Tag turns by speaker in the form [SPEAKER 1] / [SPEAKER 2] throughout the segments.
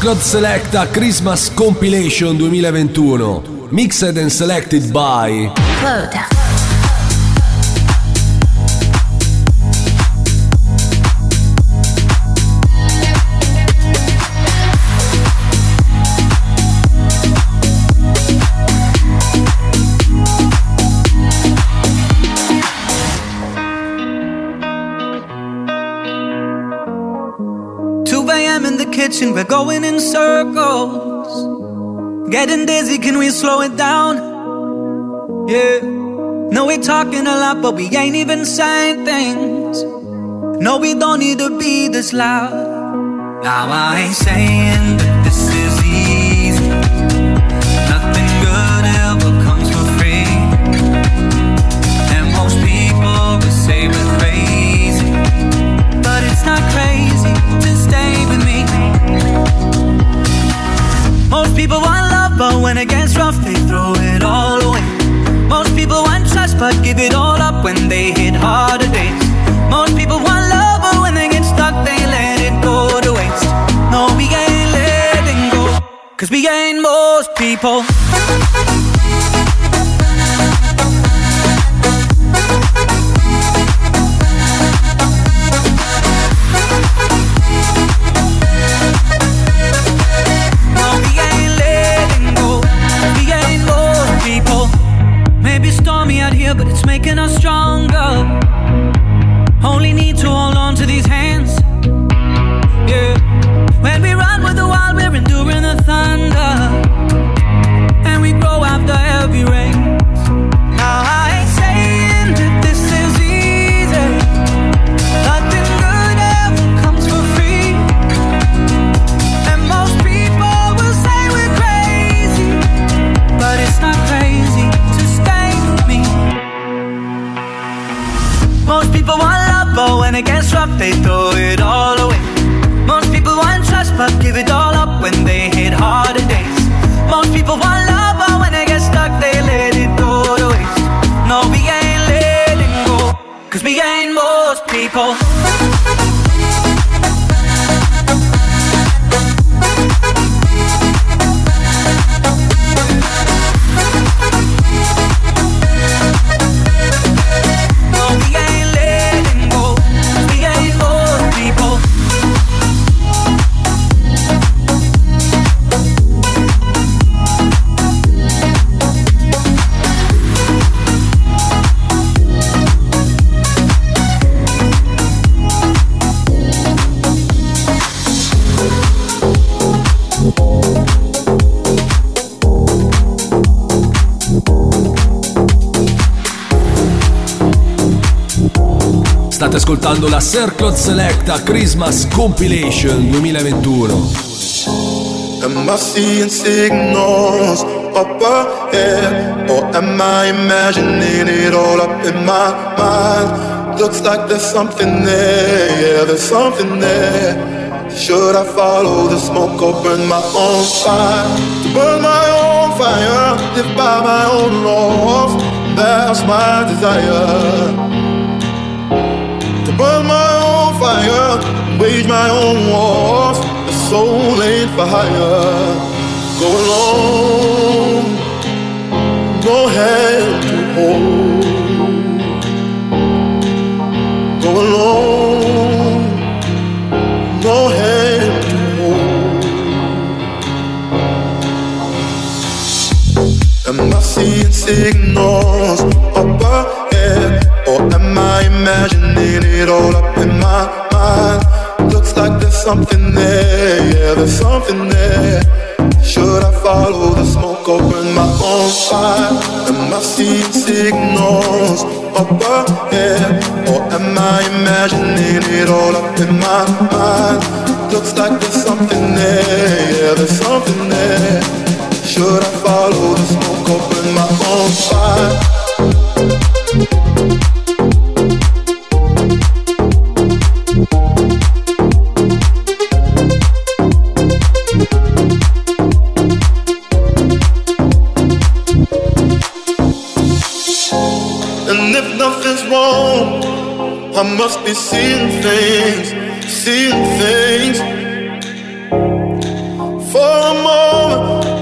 [SPEAKER 1] Circlot Selecta Christmas Compilation 2021, mixed and selected by
[SPEAKER 2] Quota.
[SPEAKER 3] Kitchen, we're going in circles, getting dizzy, can we slow it down? Yeah, no, we're talking a lot, but we ain't even saying things. No, we don't need to be this loud. Now I ain't saying that this is easy, nothing good ever comes for free, and most people will say we're crazy, but it's not crazy to stay with me. Most people want love, but when it gets rough, they throw it all away. Most people want trust, but give it all up when they hit harder days. Most people want love, but when they get stuck, they let it go to waste. No, we ain't letting go, 'cause we ain't most people. Out here, but it's making us stronger. Only need to hold on to these hands. Yeah. When we run with the wild, we're enduring the thunder, and we grow after every rain. Now I ain't saying that this is easy. Nothing good ever comes for free, and most people will say we're crazy, but it's not crazy to stay. Most people want love, but when it gets rough, they throw it all away. Most people want trust, but give it all up when they hit harder days. Most people want love, but when they get stuck, they let it go to waste. No, we ain't letting go, 'cause we ain't most people.
[SPEAKER 1] State ascoltando la Circlot Selecta Christmas Compilation 2021.
[SPEAKER 4] Am I seeing signals up ahead, or am I imagining it all up in my mind? Looks like there's something there, yeah, there's something there. Should I follow the smoke or burn my own fire? To burn my own fire, live by my own laws, that's my desire. To burn my own fire, wage my own wars, the soul ain't for hire. Go alone, no hand to hold. Go alone, no hand to hold. Am I seeing signals up ahead, or am I imagining it all up in my mind? Looks like there's something there, yeah, there's something there. Should I follow the smoke or burn my own fire? Am I seeing signals up ahead, or am I imagining it all up in my mind? Looks like there's something there, yeah, there's something there. Should I follow the smoke or burn my own fire? And if nothing's wrong, I must be seeing things,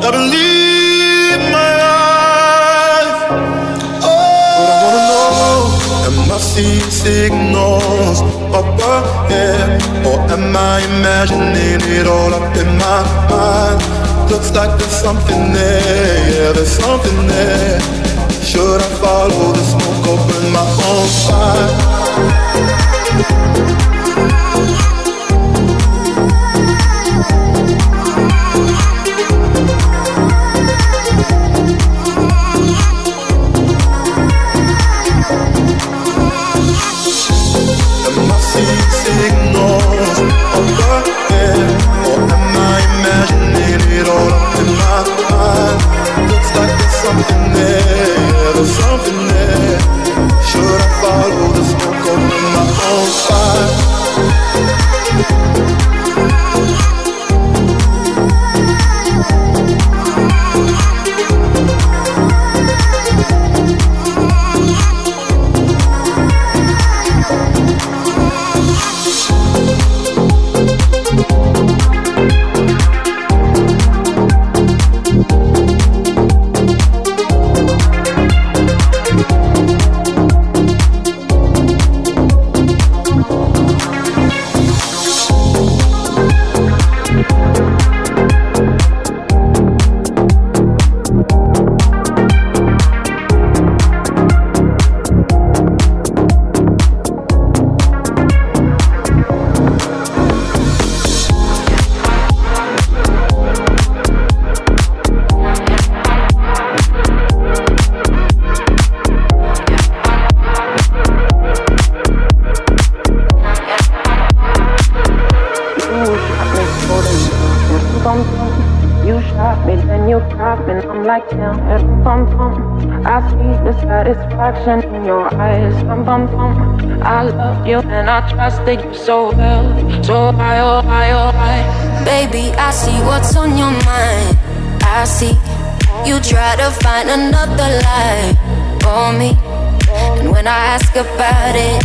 [SPEAKER 4] I believe my life. But I wanna know, am I seeing signals up ahead, or am I imagining it all up in my mind? Looks like there's something there, yeah, there's something there. Should I follow the smoke or burn my own fire? Am I seeing signals up ahead, or am I imagining it all up in my mind? Looks like there's something there, yeah, there's something there. Should I follow the smoke or burn my own fire?
[SPEAKER 2] Satisfaction in your eyes, I love you and I trusted you so well. So high, oh high, oh high.
[SPEAKER 5] Baby, I see what's on your mind. I see you try to find another lie for me. And when I ask about it,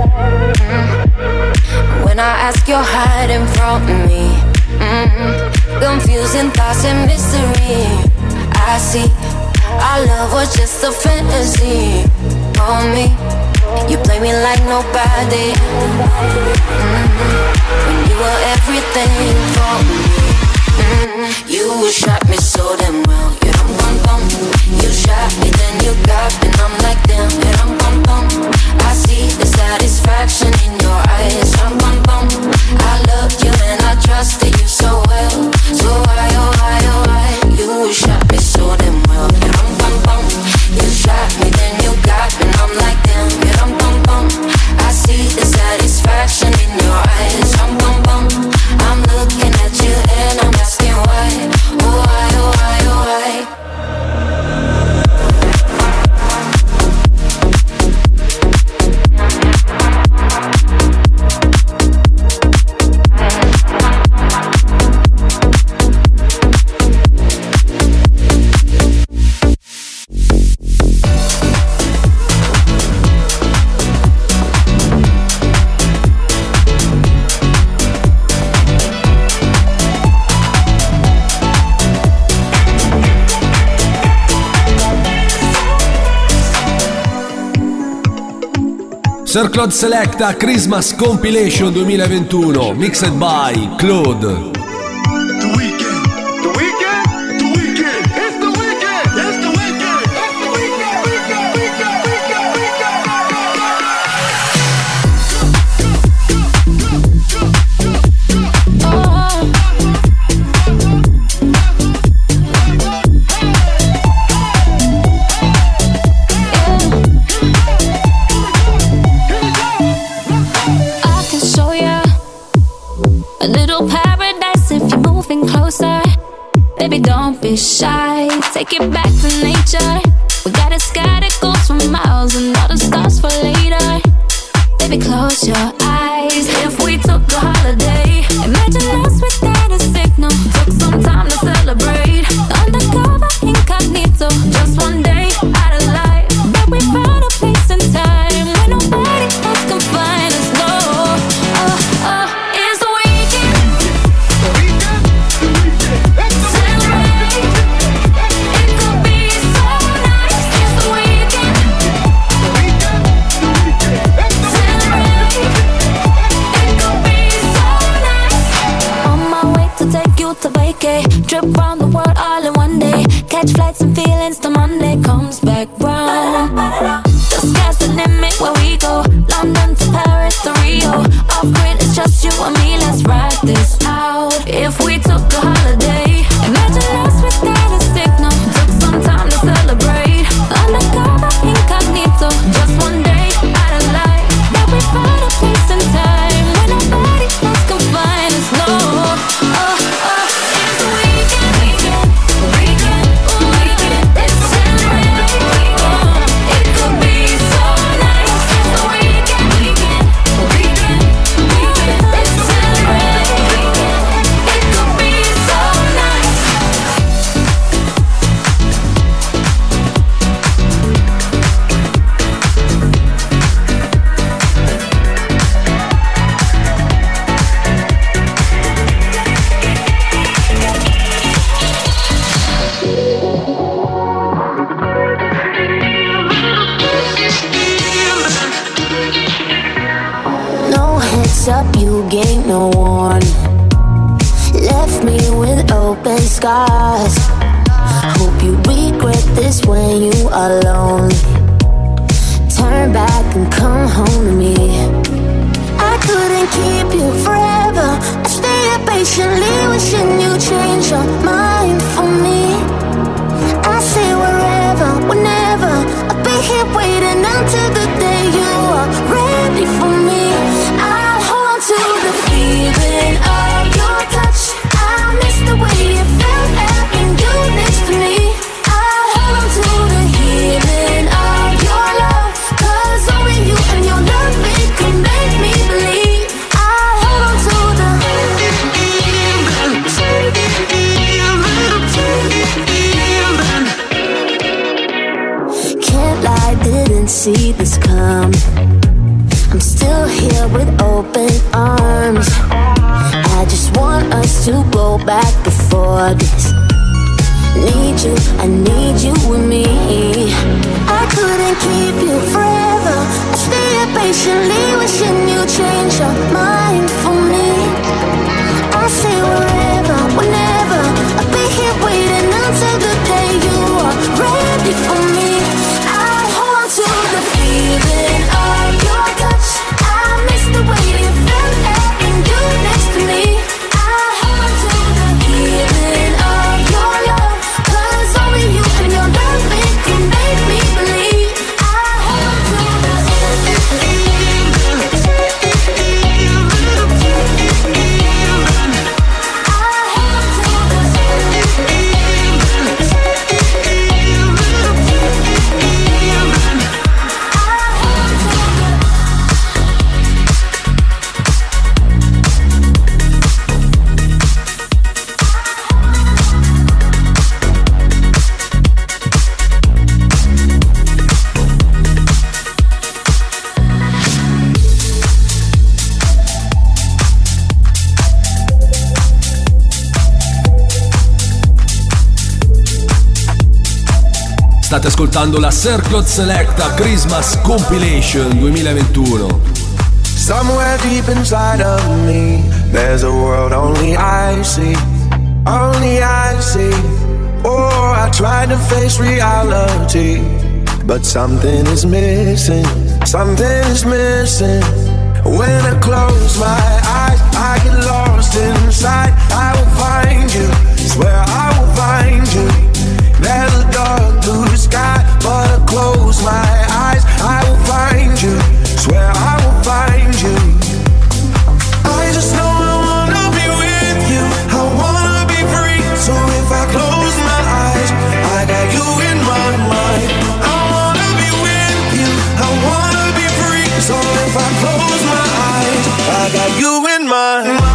[SPEAKER 5] when I ask, you're hiding from me. Confusing thoughts and mystery. I see our love was just a fantasy on me. You play me like nobody. When you were everything for me. You shot me so damn well. You dum bum bum. You shot me, then you got me, and I'm like damn. You dum bum bum. I see the satisfaction in your eyes. Dum bum bum. I loved you and I trusted you so well. So why, oh why, oh why? You shot me so damn well. You dum bum bum. You shot me, then you got me, and I'm like damn. You dum bum bum. I see the satisfaction in your eyes. Dum bum bum. I'm looking at you and I'm asking why. Oh why, oh why, oh why?
[SPEAKER 1] Sir Claude Selecta Christmas Compilation 2021, mixed by Claude.
[SPEAKER 6] Baby, don't be shy, take it back to nature. We got a sky that goes for miles and all the stars for later. Baby, close your eyes. If we took a holiday, imagine us without a signal. Took some time to celebrate. Undercover, incognito, just one day out of life. But we found a place and time where nobody else can find us. No, it's the weekend. Celebrate.
[SPEAKER 5] mess up, you gain no warning. Left me with open scars. Hope you regret this when you are lonely. Turn back and come home to me. I couldn't keep you forever. I stayed patiently wishing you change your mind for me. I say wherever, whenever, I'll be here waiting until the day you are ready for me. I'll hold to the feeling of your touch. I miss the way it felt having you next to me. I'll hold to the healing of your love, 'cause only you and your love, it can make me believe. I'll hold to the can't lie, didn't see this coming. I'm still here with open arms. I just want us to go back before this. Need you, I need you with me. I couldn't keep you forever. I stayed patiently wishing you change your mind for me. I say wherever, whenever, I'll be here waiting until the day you are ready for me. I'll hold to the feeling of your touch. I miss the way it felt having you next to me. I'll hold to the healing of your love, 'cause only you and your love, it can make me believe. I'll hold to the
[SPEAKER 1] State ascoltando la Circle Selecta Christmas Compilation 2021.
[SPEAKER 7] Somewhere deep inside of me, there's a world only I see. Only I see. Oh, I tried to face reality, but something is missing. Something is missing. When I close my eyes, I get lost inside. I will find you, swear I will find you. There's a dark blue sky, but I close my eyes, I will find you, swear I will find you. I just know I wanna be with you, I wanna be free. So if I close my eyes, I got you in my mind. I wanna be with you, I wanna be free. So if I close my eyes, I got you in my mind.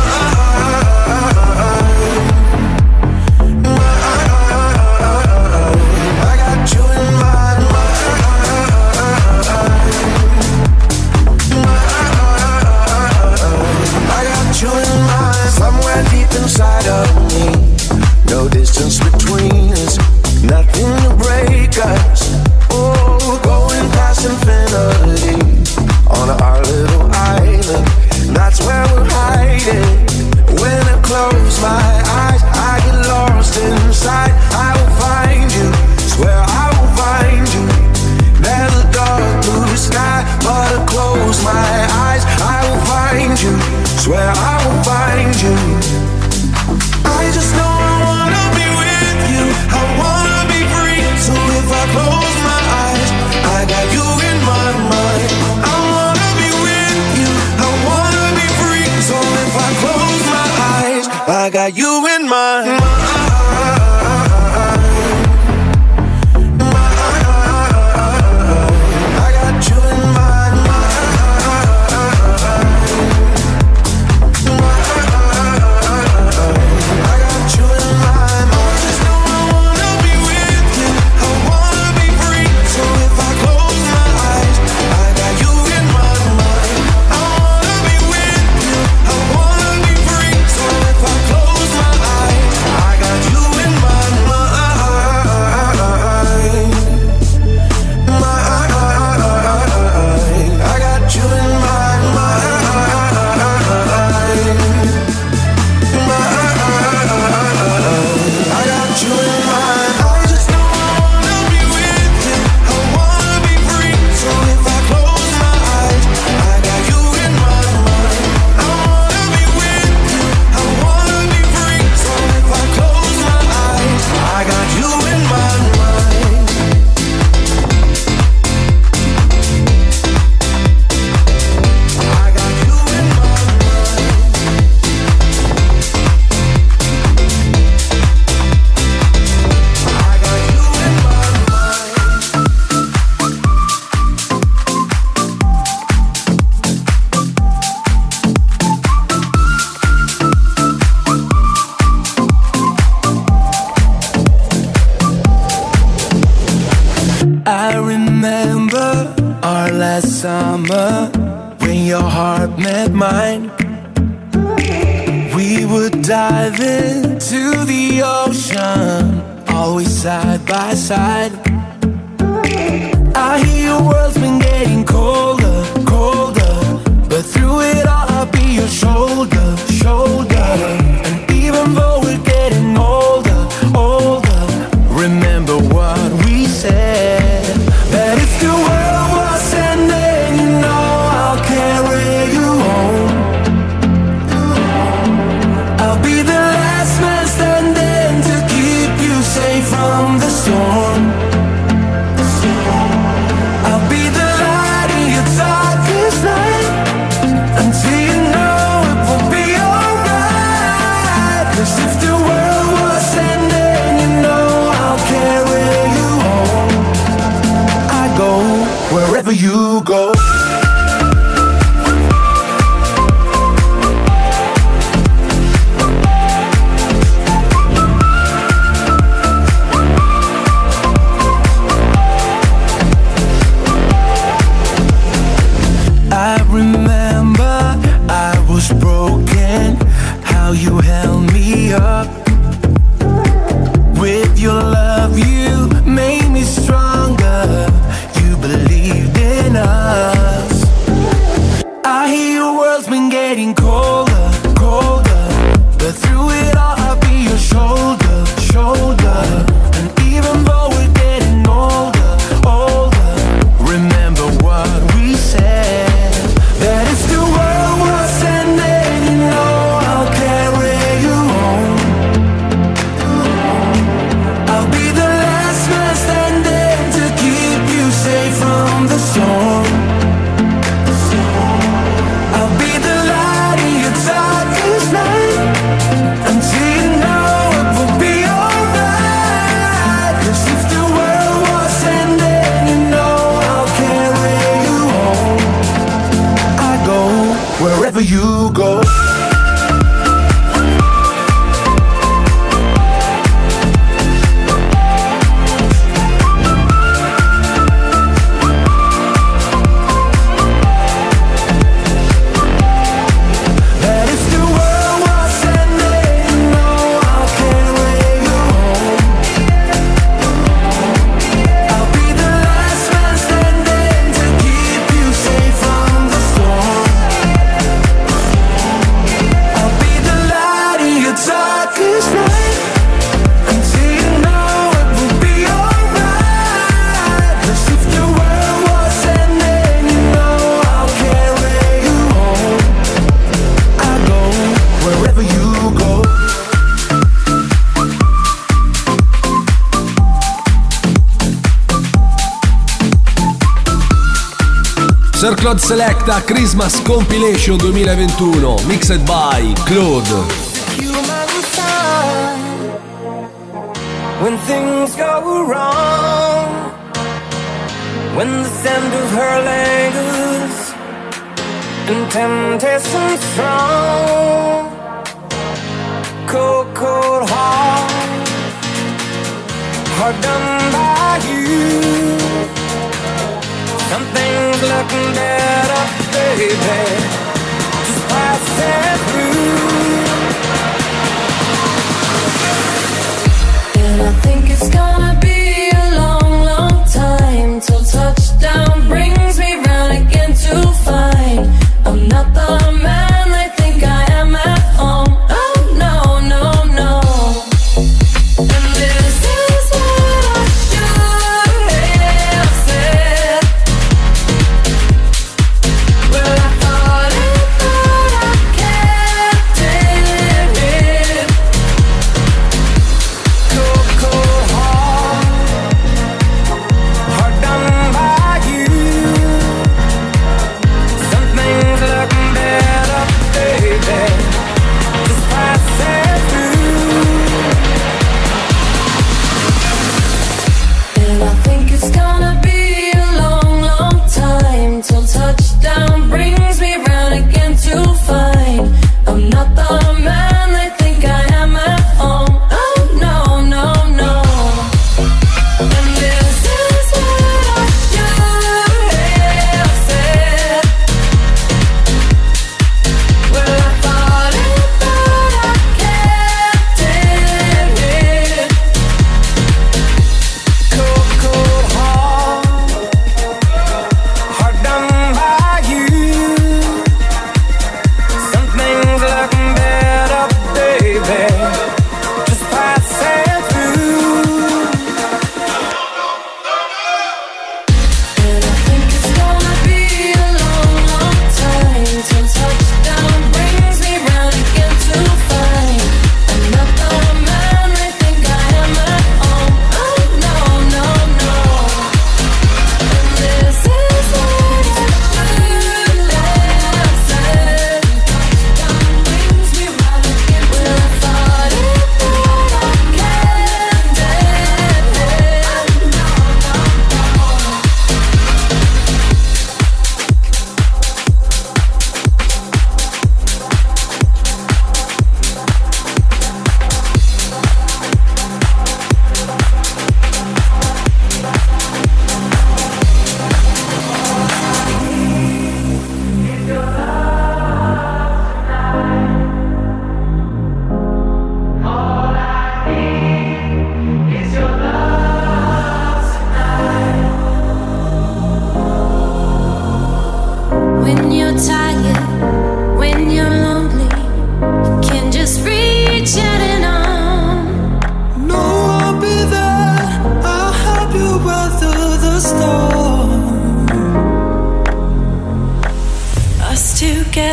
[SPEAKER 7] Somewhere deep inside of me, no distance between us, nothing to break us. Oh, going past infinity on our little island, that's where we're hiding. When I close my eyes, I get lost inside. I will find you, swear I will find you. There's a dark blue sky, but I close my eyes, I will find you, swear I will find you. I just know I wanna be with you, I wanna be free. So if I close my eyes, I got you in my mind. I wanna be with you, I wanna be free. So if I close my eyes, I got you in my mind. last summer when your heart met mine. We would dive into the ocean, always side by side. I hear your world's been getting colder, colder, but through it all I'll be your shoulder, shoulder. And even though we're getting older, older, remember what we said, that if the world was ending, you know I'll carry you home. I'll be the last man standing to keep you safe from the storm. I'll be the light in your darkest night, until you know it will be alright. 'Cause if the world was ending, you know I'll carry you home. I go wherever you go. I remember I was broken, how you held me up. With your love you made me stronger, you believed in us. I hear your world's been getting colder, colder, but through it all I'll be your shoulder, shoulder. And even though we're getting older, older, remember what we said, that if the world was ending, you know I'll carry you home. I'll be the last man standing to keep you safe from the storm. I'll be the light in your darkest night, until you know it will be alright. 'Cause if the world was ending, you know I'll carry you home. I go wherever you go. That if the world was ending, you know I'll carry you home. I'll be the last man standing to keep you safe from the storm. I'll be the light in your darkest night, until you know it will be alright. 'Cause if the world was ending, you know I'll carry you home. I go wherever you go.
[SPEAKER 1] Sir Claude Selecta Christmas Compilation 2021, mixed by Claude.
[SPEAKER 7] Human side, when things go wrong, when the scent of her lingers and temptation strong, cold, cold heart done by you. Something's looking better, baby. Just pass it through.
[SPEAKER 6] And I think it's gonna be a long, long time till touchdown brings me round again to find I'm not the man they think I am at home. Oh no, no, no. And this is what I should have said. Well, I thought I kept it. Cold, cold heart.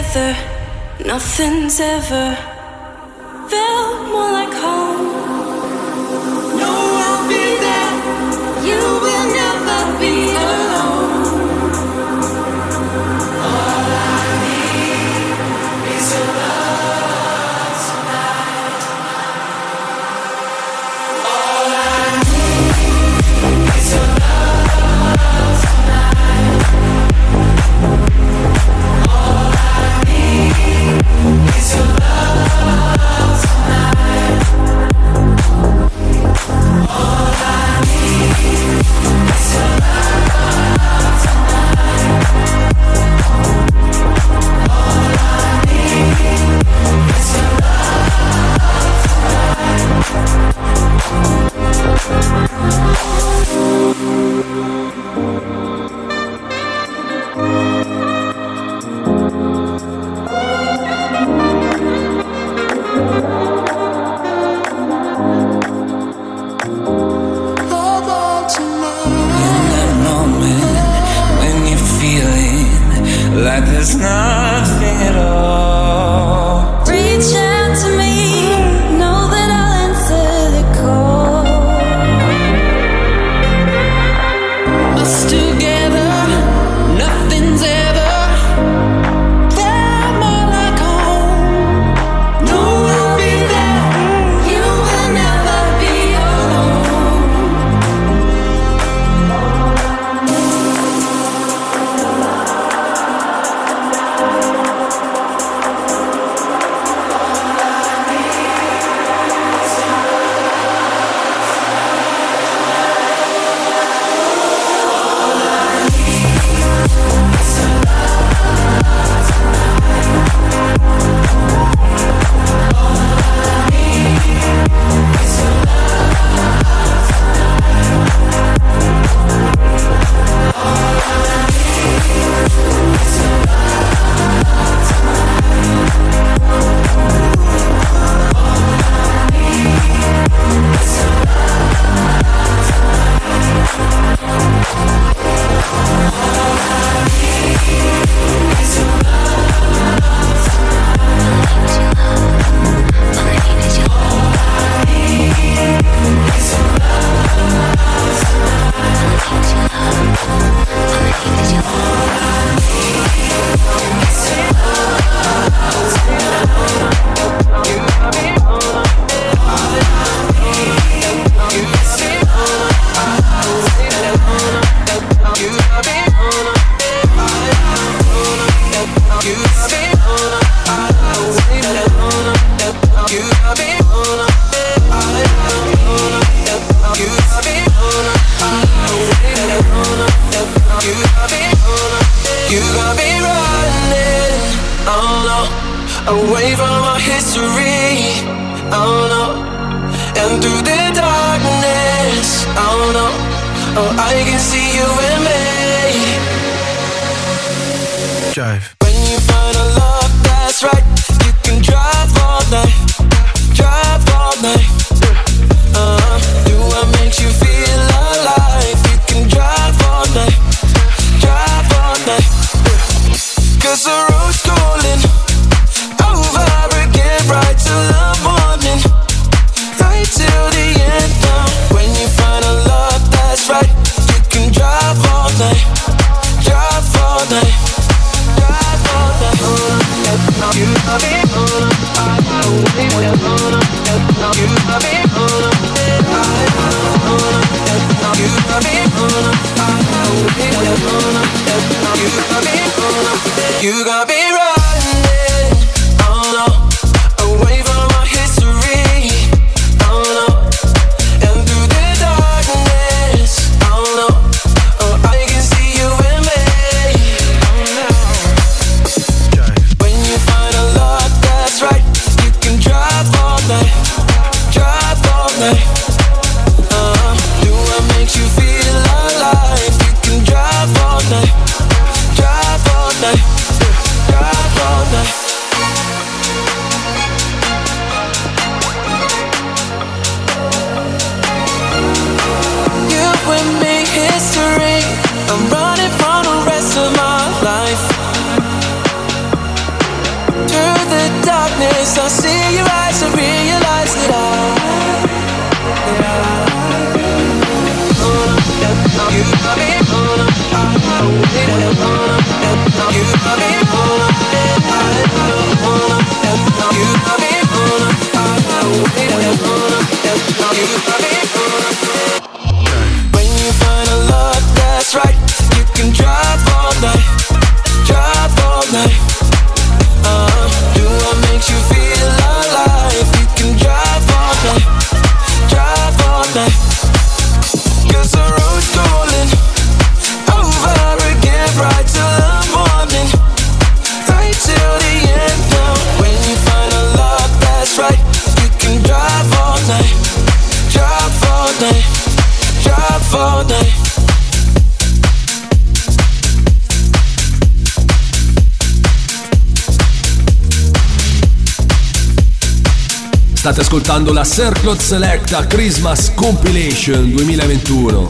[SPEAKER 8] together, nothing's ever felt more like home. No, I'll be there. You will never be alone. All I need is your love tonight. All I need is your love tonight. All I need is your love tonight. All I need is your love tonight. All I need is your love
[SPEAKER 3] like there's nothing at all.
[SPEAKER 8] Reach out to me, know that I'll answer the call. Us together, nothing's ever felt more like home. No, I'll be there. You will never be alone. You got me running, oh no, away from our history, oh no, and through the darkness, oh no, oh I can see you and me. Drive. When you find a love that's right, you can drive all night, drive all night. Do what makes you feel alive. You can drive all night, drive all night. 'Cause the road's calling over again, right till the morning, right till the end. When you find a love that's right, you can drive all night, drive all night, drive all night. You got me on, you got me on. You got me on, you got me running, oh no, away from our history, oh no, and through the darkness, oh no, oh I can see you and me, oh no. When you find a love that's right, you can drive all night, drive all night. Do what makes you feel alive. You can drive all night, drive all night. When you find a love that's right, you can drive all night, drive all night. Do what makes you feel alive. You can drive all night, drive all night. 'Cause the road's calling over again, right till the morning, right till the end. Now, when you find a love that's right, you can drive all night, drive all night, drive all night.
[SPEAKER 1] State ascoltando la Circle Selecta Christmas Compilation 2021.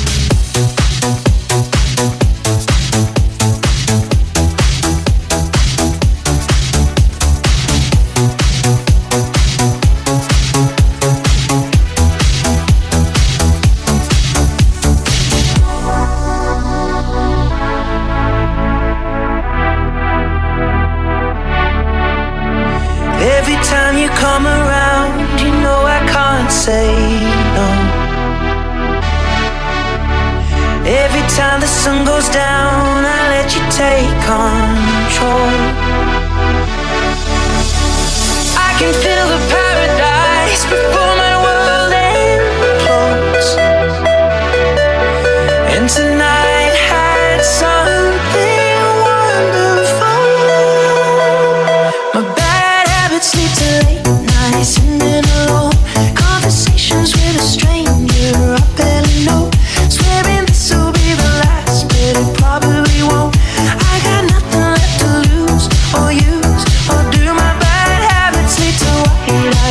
[SPEAKER 3] Every time you come around, you know I can't say no. Every time the sun goes down, I let you take control. I can feel the paradise before my world implodes. And tonight had something wonderful. My bad habits lead to late nights sitting alone, conversations with a stranger I barely know, swearing this will be the last, but it probably won't. I got nothing left to lose or use or do. My bad habits lead to white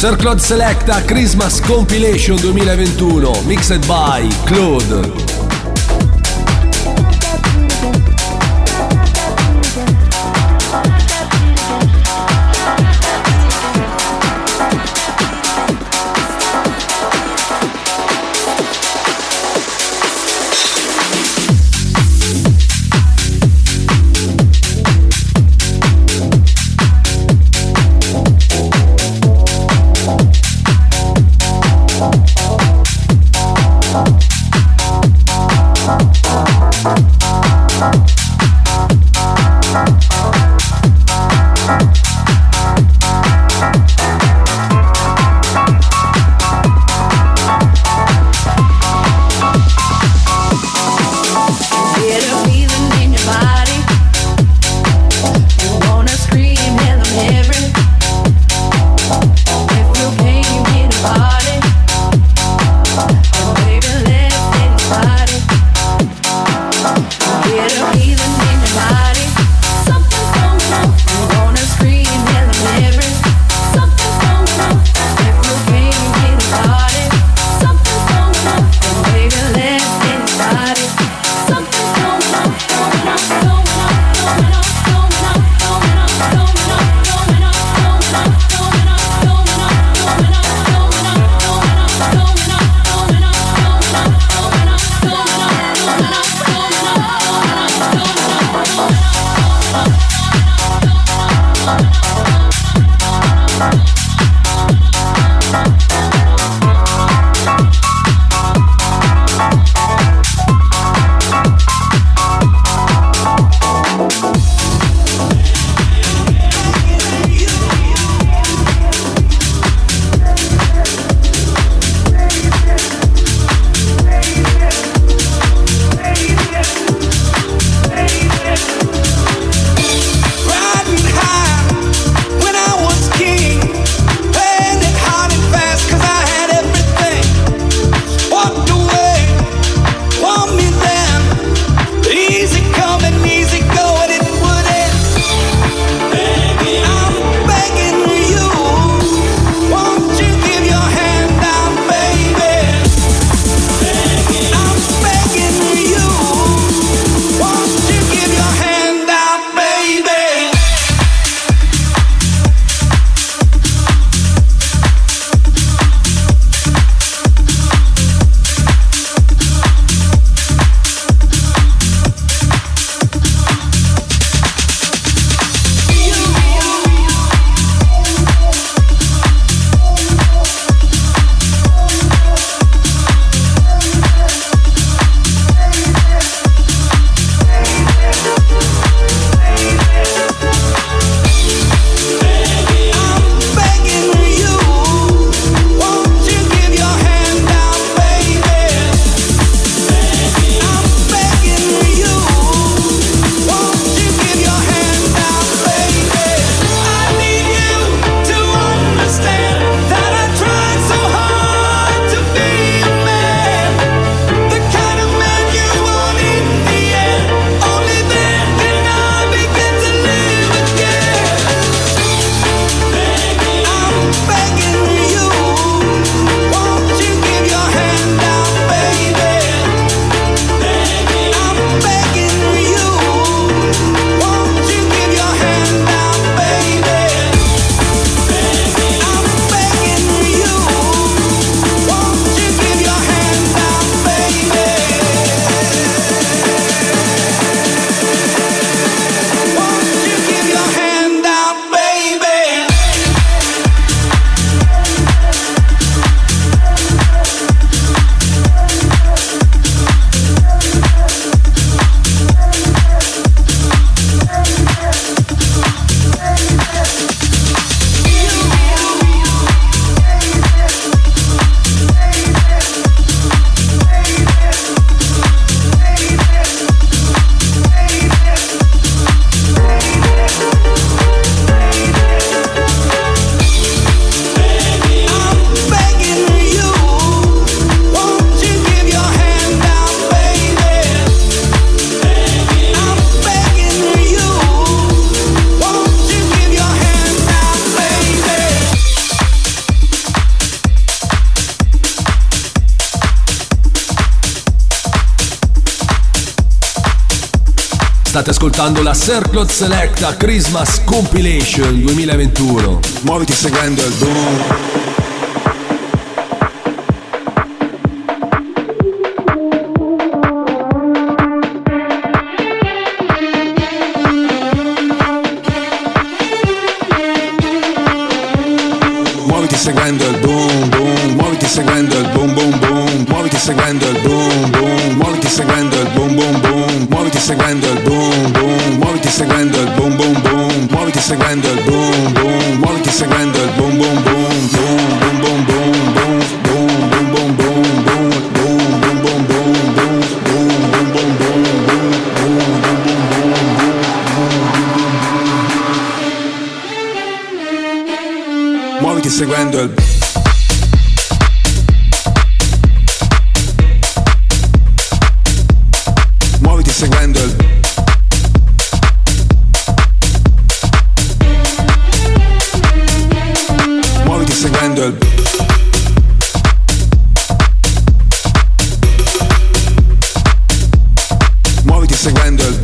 [SPEAKER 1] Sir Claude Selecta Christmas Compilation 2021, mixed by Claude.
[SPEAKER 9] Get a feeling
[SPEAKER 1] State ascoltando la Circle Selecta Christmas Compilation 2021.
[SPEAKER 7] Muoviti seguendo il boom. Seguendo il boom boom, muoviti seguendo il boom boom boom, muoviti seguendo il boom boom, muoviti seguendo il boom boom boom, muoviti seguendo il boom boom, muoviti seguendo il boom boom boom, muoviti seguendo il boom boom, muoviti seguendo il boom boom boom, boom boom boom boom boom boom boom boom boom boom boom boom boom boom boom boom. Muoviti seguendo il muoviti seguendo il muoviti seguendo il muoviti seguendo il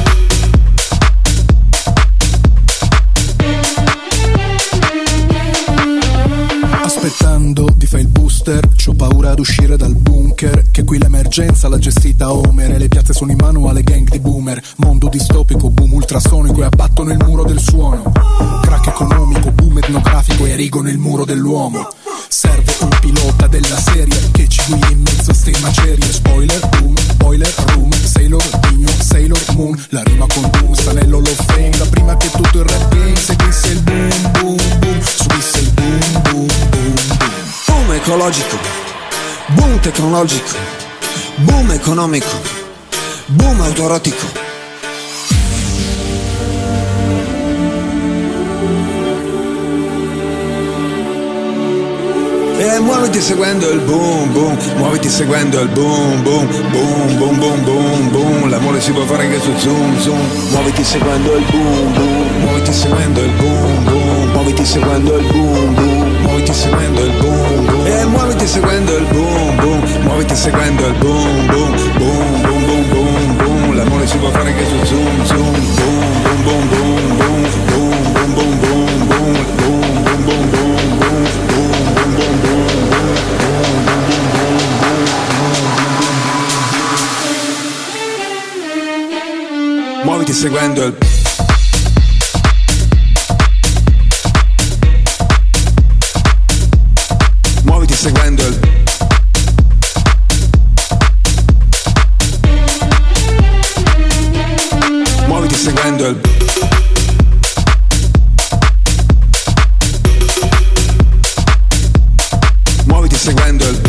[SPEAKER 9] aspettando di fare il booster, c'ho paura ad uscire dal bunker, che qui l'emergenza l'ha gestita Homer e le piazze sono in mano alle gang di boomer. Mondo distopico, boom ultrasonico e abbattono il muro del suono. Crack economico, boom etnografico e erigono il muro dell'uomo. Serve un pilota della serie che ci guidi in mezzo a ste macerie. Spoiler, boom, boiler, room, Sailor, Digno, Sailor Moon. La rima con boom sta nell'Hall of Fame. Da prima che tutto il rap game seguisse il boom, boom, boom, subisse il boom, boom, boom, boom.
[SPEAKER 10] Boom ecologico, boom tecnologico, boom economico, boom autoerotico.
[SPEAKER 7] E muoviti seguendo il boom boom, muoviti seguendo il boom boom, boom boom boom boom boom. L'amore si può fare anche su Zoom Zoom. Muoviti seguendo il boom boom, muoviti seguendo il boom boom, muoviti seguendo il boom boom, muoviti seguendo il boom boom. E muoviti seguendo il boom boom, muoviti seguendo il boom boom, boom boom boom boom boom. L'amore si può fare anche su Zoom Zoom. Boom boom boom boom boom, boom boom boom boom boom, boom boom boom boom. Muoviti seguendo il muoviti seguendo il muoviti seguendo il muoviti seguendo il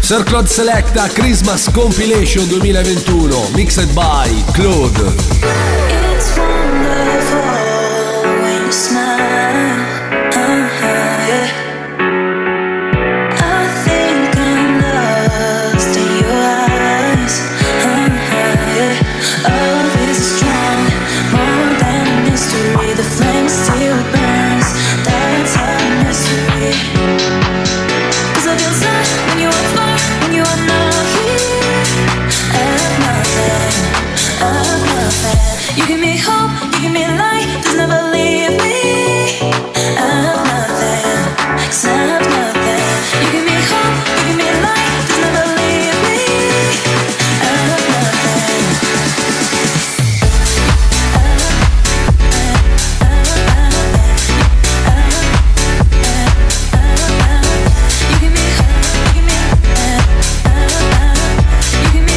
[SPEAKER 1] Sir Claude Selecta Christmas Compilation 2021, mixed by Claude.
[SPEAKER 11] It's wonderful when you smile. Yeah. I think I'm lost in your eyes. Yeah. Love is strong, more than a mystery. The flame still burns. That's our mystery. 'Cause I feel sad when you are far, when you are not here. And nothing. You give me hope, you give me light, just never leave me. I'm nothing, except nothing. You give me hope, you give me light, just never leave me. I'm nothing. You give me hope, you give me you give me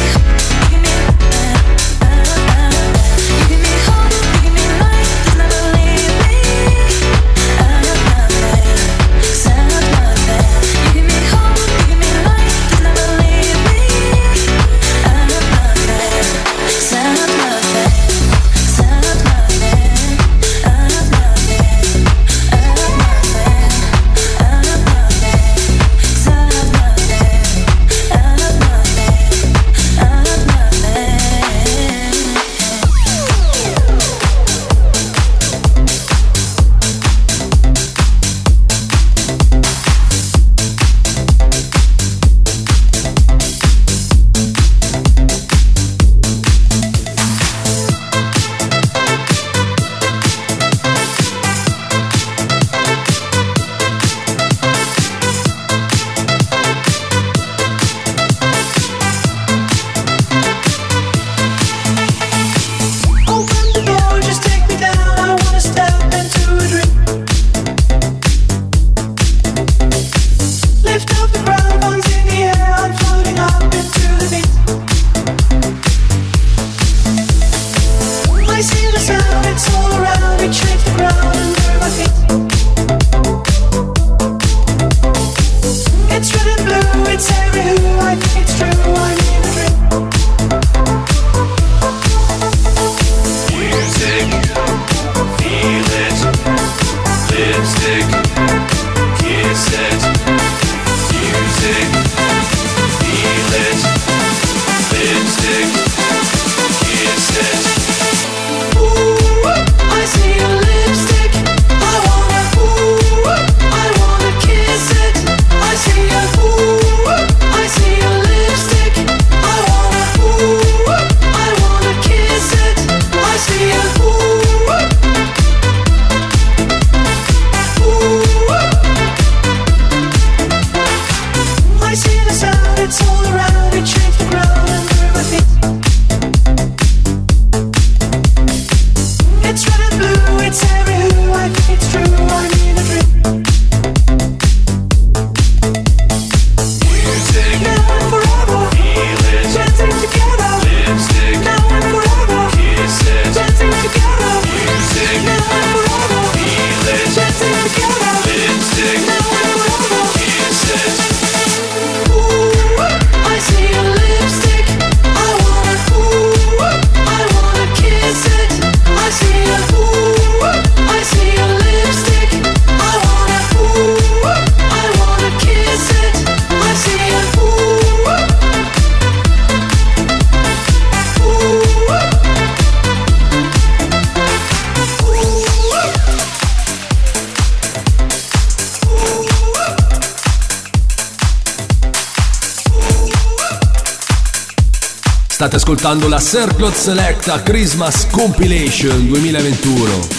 [SPEAKER 1] State ascoltando la Sir Claude Selecta Christmas Compilation 2021.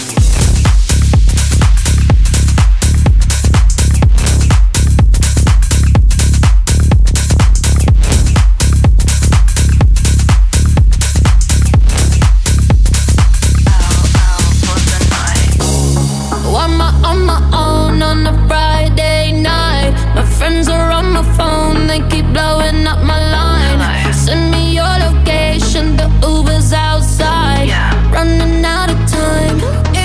[SPEAKER 6] Send me your location, the Uber's outside. Running out of time.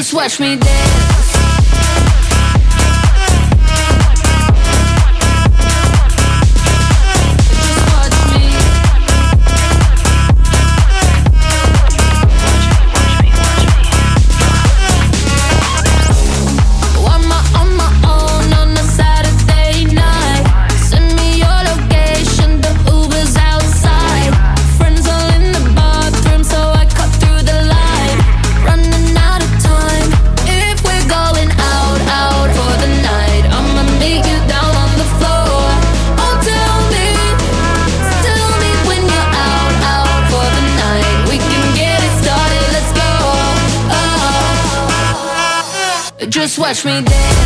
[SPEAKER 6] Just watch me dance.
[SPEAKER 5] Just watch me dance.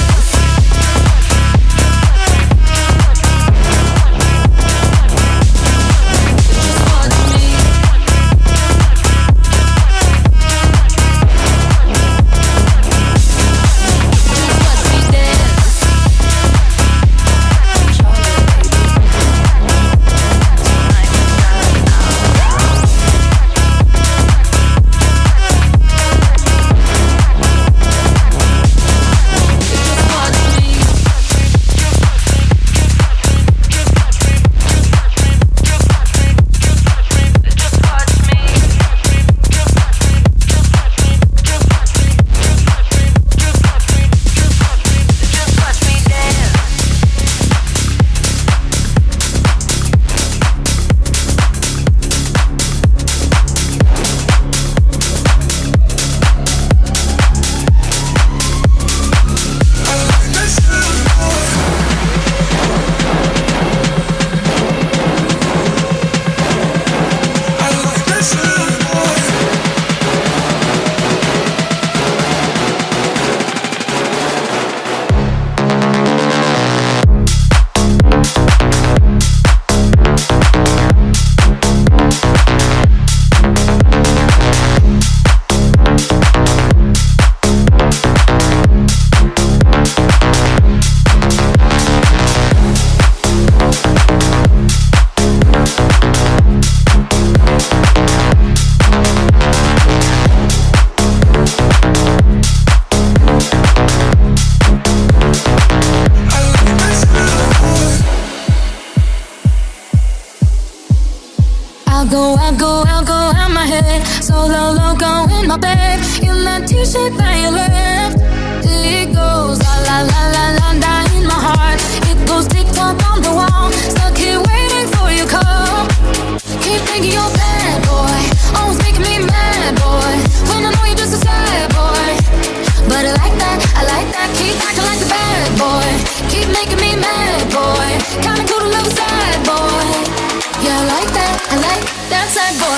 [SPEAKER 6] I'll go out my head. Solo loco in my bed. In that t-shirt that you left. It goes la la la la la la in my heart. It goes tick-tock on the wall. Stuck here waiting for your call. Keep thinking you're bad, boy. Always making me mad, boy. When I know you're just a sad boy. But I like that. Keep acting like a bad boy. Keep making me mad, boy. Kinda cool to love a sad boy. Yeah, I like that sad boy.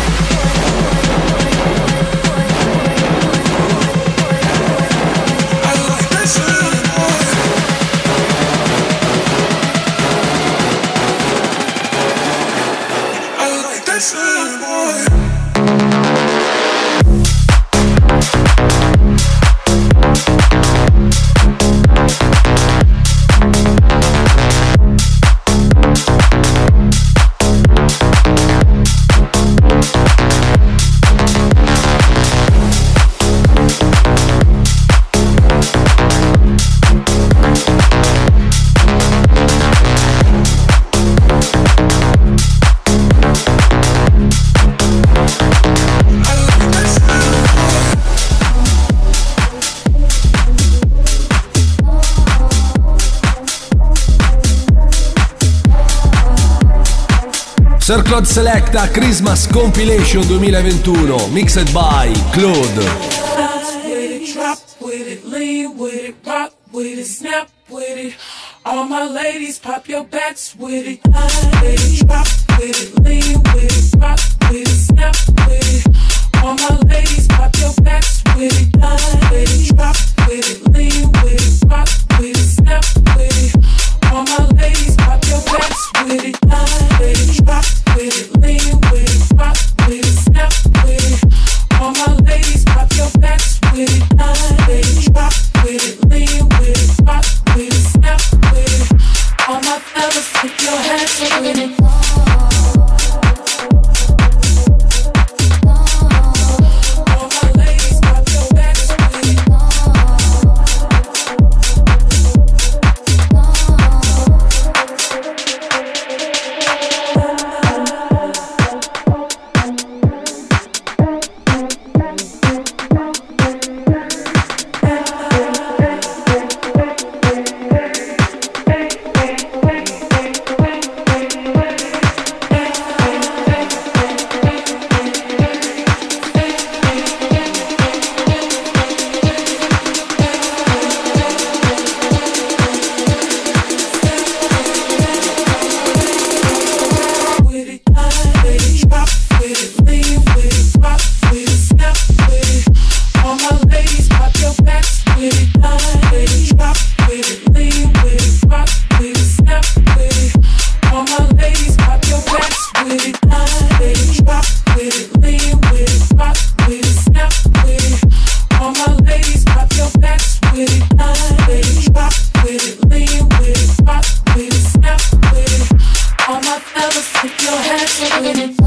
[SPEAKER 8] I like that sad boy. I like that sad boy.
[SPEAKER 1] Sir Claude Selecta Christmas Compilation 2021, mixed by Claude.
[SPEAKER 12] Drop with it, lean with it, rock with it, snap with it. All my ladies, pop your backs with it. Drop with it, lean with it, rock with it, snap with it. All my ladies, pop your backs with it. Drop with it, lean with it, rock with it, snap with it. All my ladies, pop your backs with it. Drop with it, lean with it, rock with it, snap with it. All my ladies, pop your backs with it. Drop with it, lean with it, rock with it, snap with it. All my fellas, put your hands up with it. All my ladies, pop your backs with it. If your hands are with it.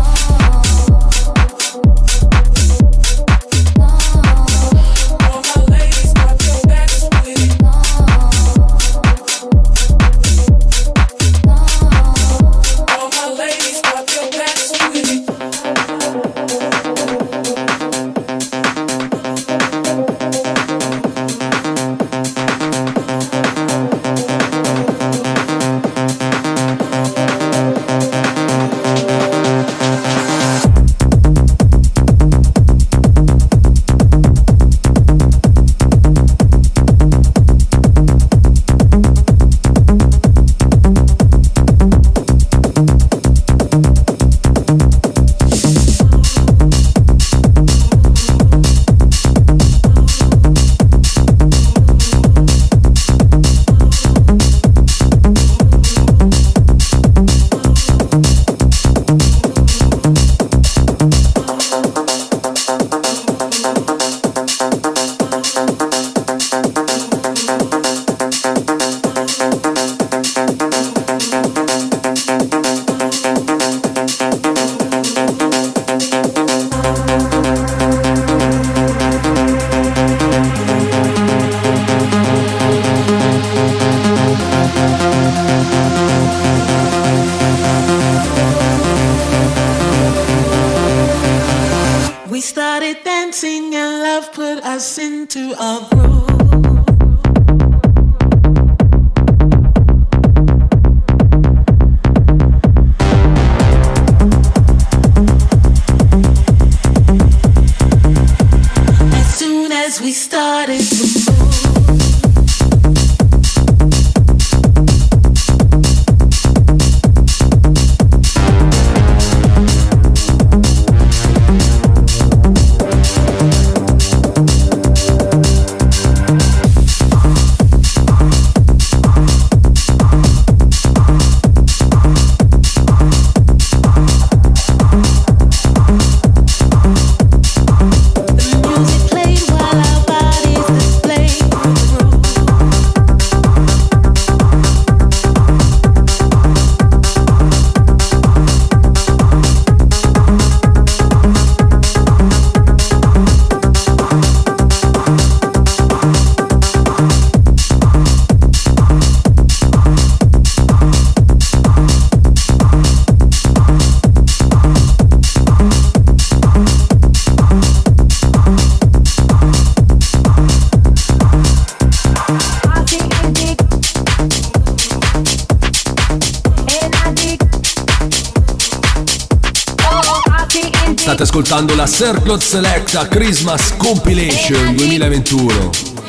[SPEAKER 1] State ascoltando la Circle Selecta Christmas Compilation 2021.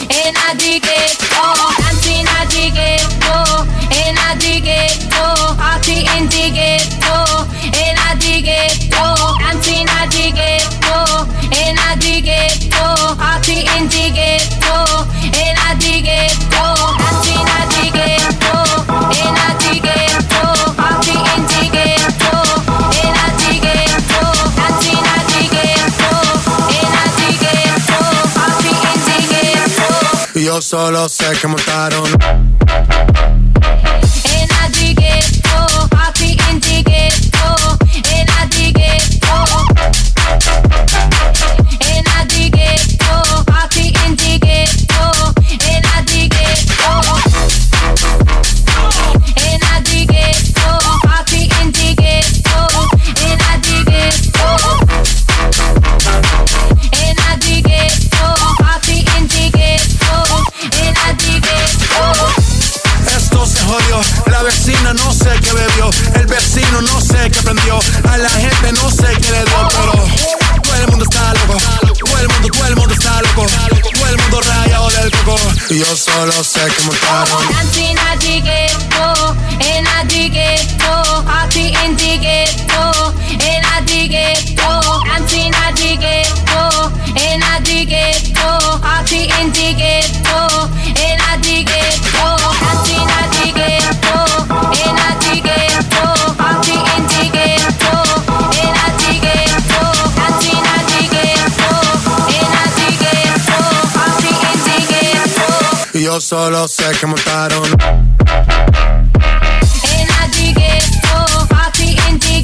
[SPEAKER 13] Yo solo sé que montaron.
[SPEAKER 14] La vecina no sé qué bebió, el vecino no sé qué prendió, a la gente no sé qué le dio, pero todo el mundo está loco, todo el mundo está loco, todo el mundo rayado del coco.
[SPEAKER 13] Y yo solo sé que montaron. Yo solo sé que montaron.
[SPEAKER 5] In a ghetto, party in the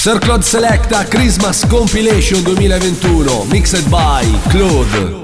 [SPEAKER 1] Sir Claude Selecta Christmas Compilation 2021, mixed by Claude.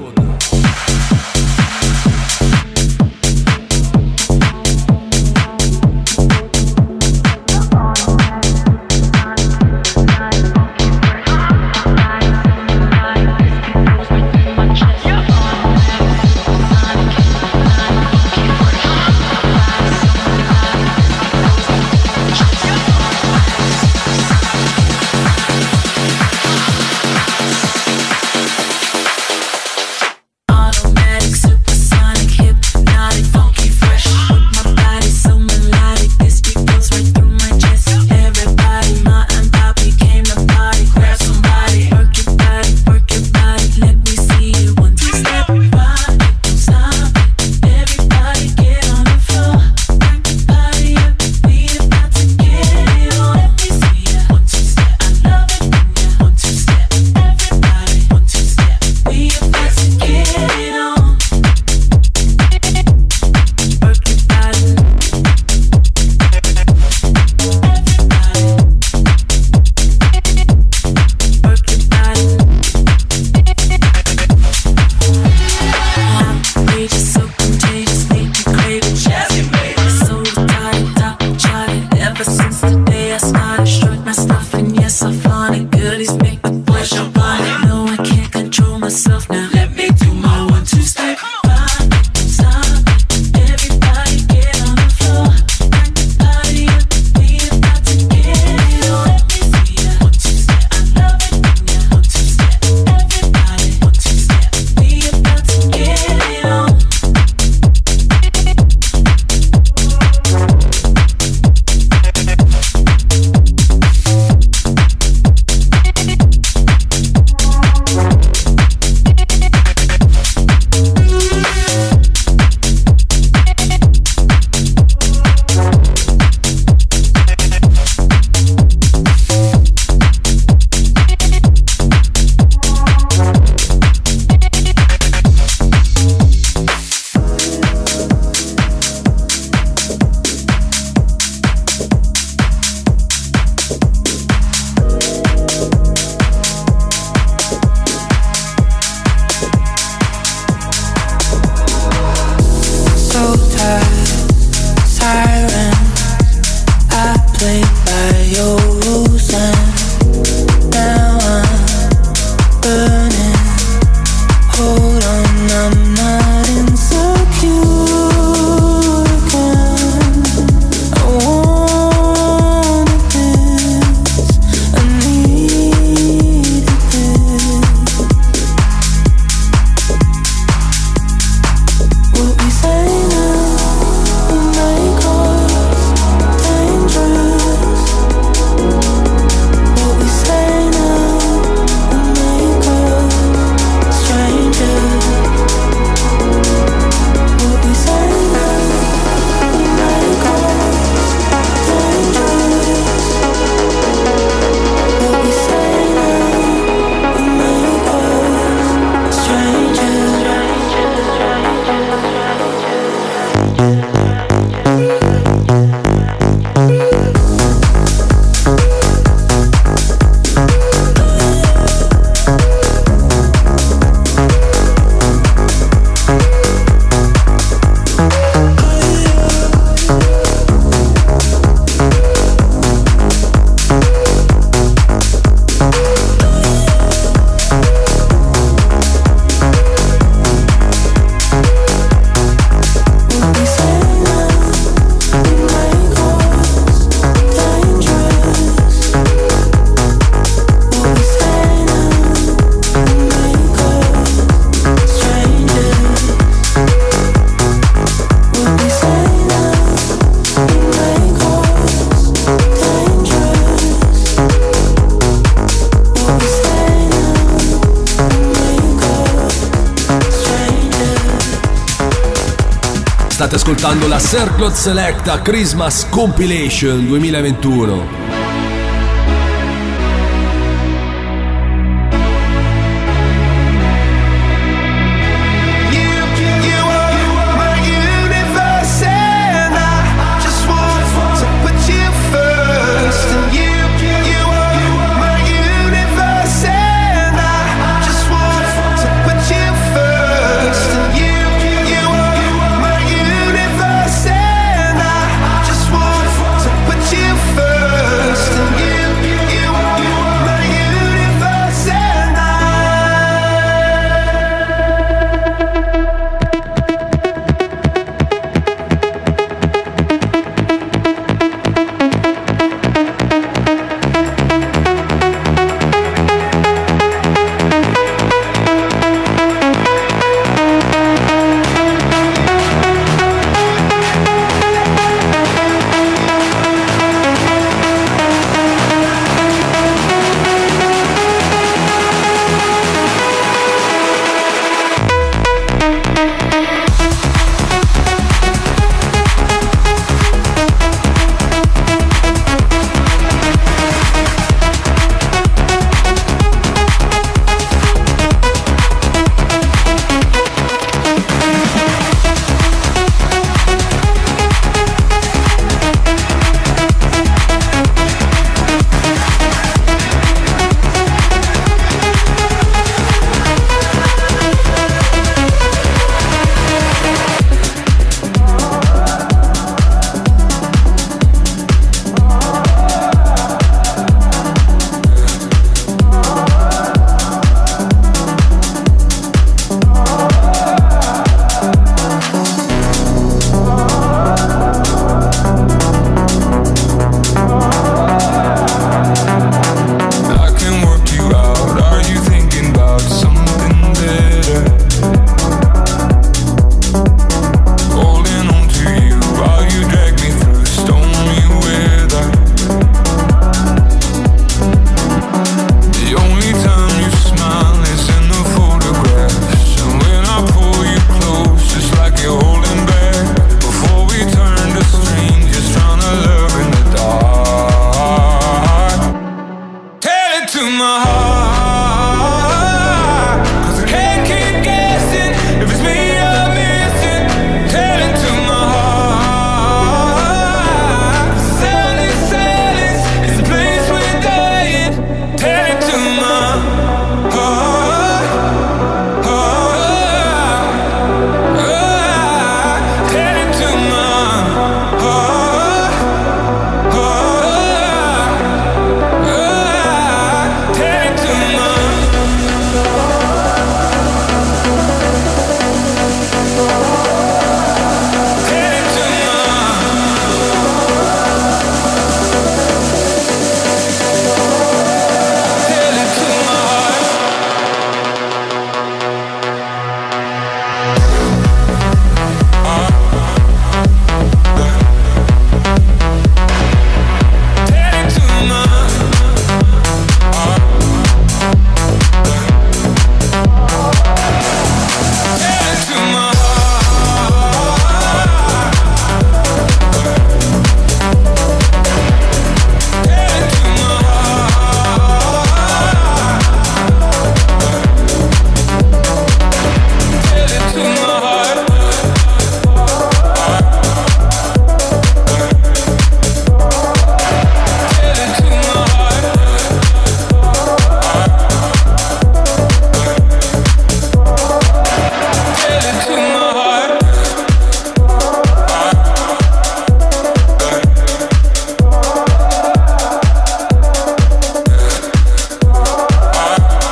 [SPEAKER 1] State ascoltando la Sir Claude Selecta Christmas Compilation 2021.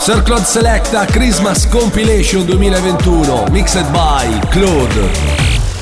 [SPEAKER 1] Circle Selecta Christmas Compilation 2021, mixed by Claude.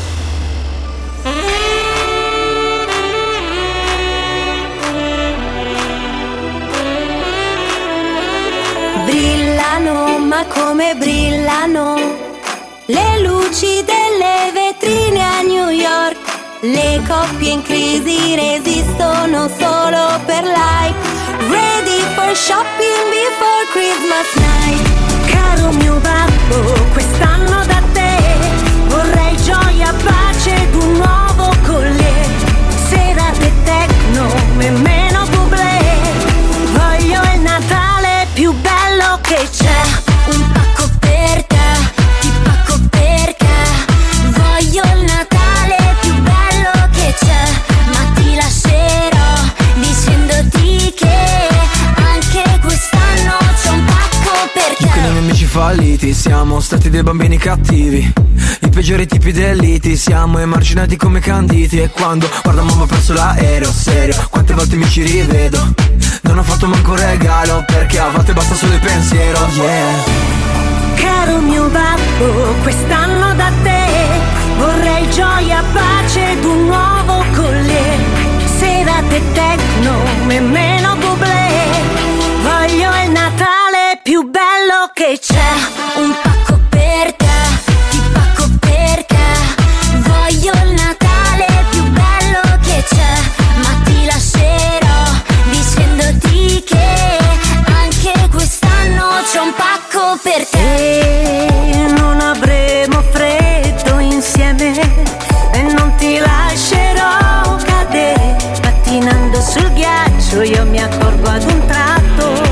[SPEAKER 15] Brillano, ma come brillano le luci delle vetrine a New York. Le coppie in crisi resistono solo per like. Ready for shopping before Christmas night. Caro mio babbo, quest'anno da te vorrei gioia, pace ed un nuovo collet. Serate techno e meno bublé. Voglio il Natale più bello che c'è. Un pacco per te, ti pacco per te. Voglio il Natale più bello che c'è. Ma ti lascerò dicendoti che anche quest'anno c'è un pacco per te.
[SPEAKER 10] Con i miei amici falliti siamo stati dei bambini cattivi, i peggiori tipi dell'iti, siamo emarginati come canditi. E quando guarda mamma ho perso l'aereo, serio, quante volte mi ci rivedo. Non ho fatto manco un regalo perché a volte basta solo il pensiero, yeah.
[SPEAKER 15] Caro mio babbo, quest'anno da te vorrei gioia, pace ed un nuovo collet. Serate techno e meno bublé. Voglio il Natale più bello che c'è. Un pacco per te, ti pacco per te. Voglio il Natale più bello che c'è. Ma ti lascerò dicendoti che anche quest'anno c'è un pacco per te. E non avremo freddo insieme e non ti lascerò cadere. Pattinando sul ghiaccio io mi accorgo ad un tratto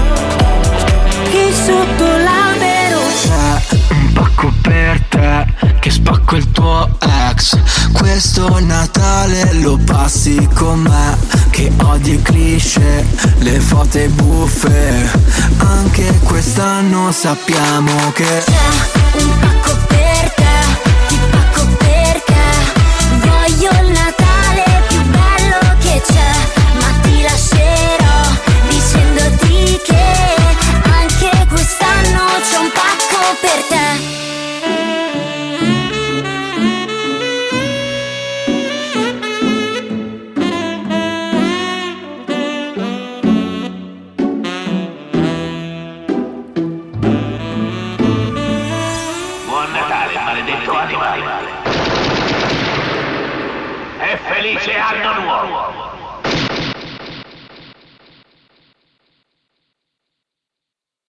[SPEAKER 15] che sotto l'albero
[SPEAKER 10] c'è un pacco per te, che spacco il tuo ex. Questo Natale lo passi con me, che odi i cliché, le foto e buffe. Anche quest'anno sappiamo che
[SPEAKER 15] c'è un pacco per te, ti pacco per te. Voglio il Natale più bello che c'è. Ma ti lascerò dicendoti che anche quest'anno c'è un pacco per te.
[SPEAKER 16] Buon Natale, maledetto animale. E felice anno nuovo.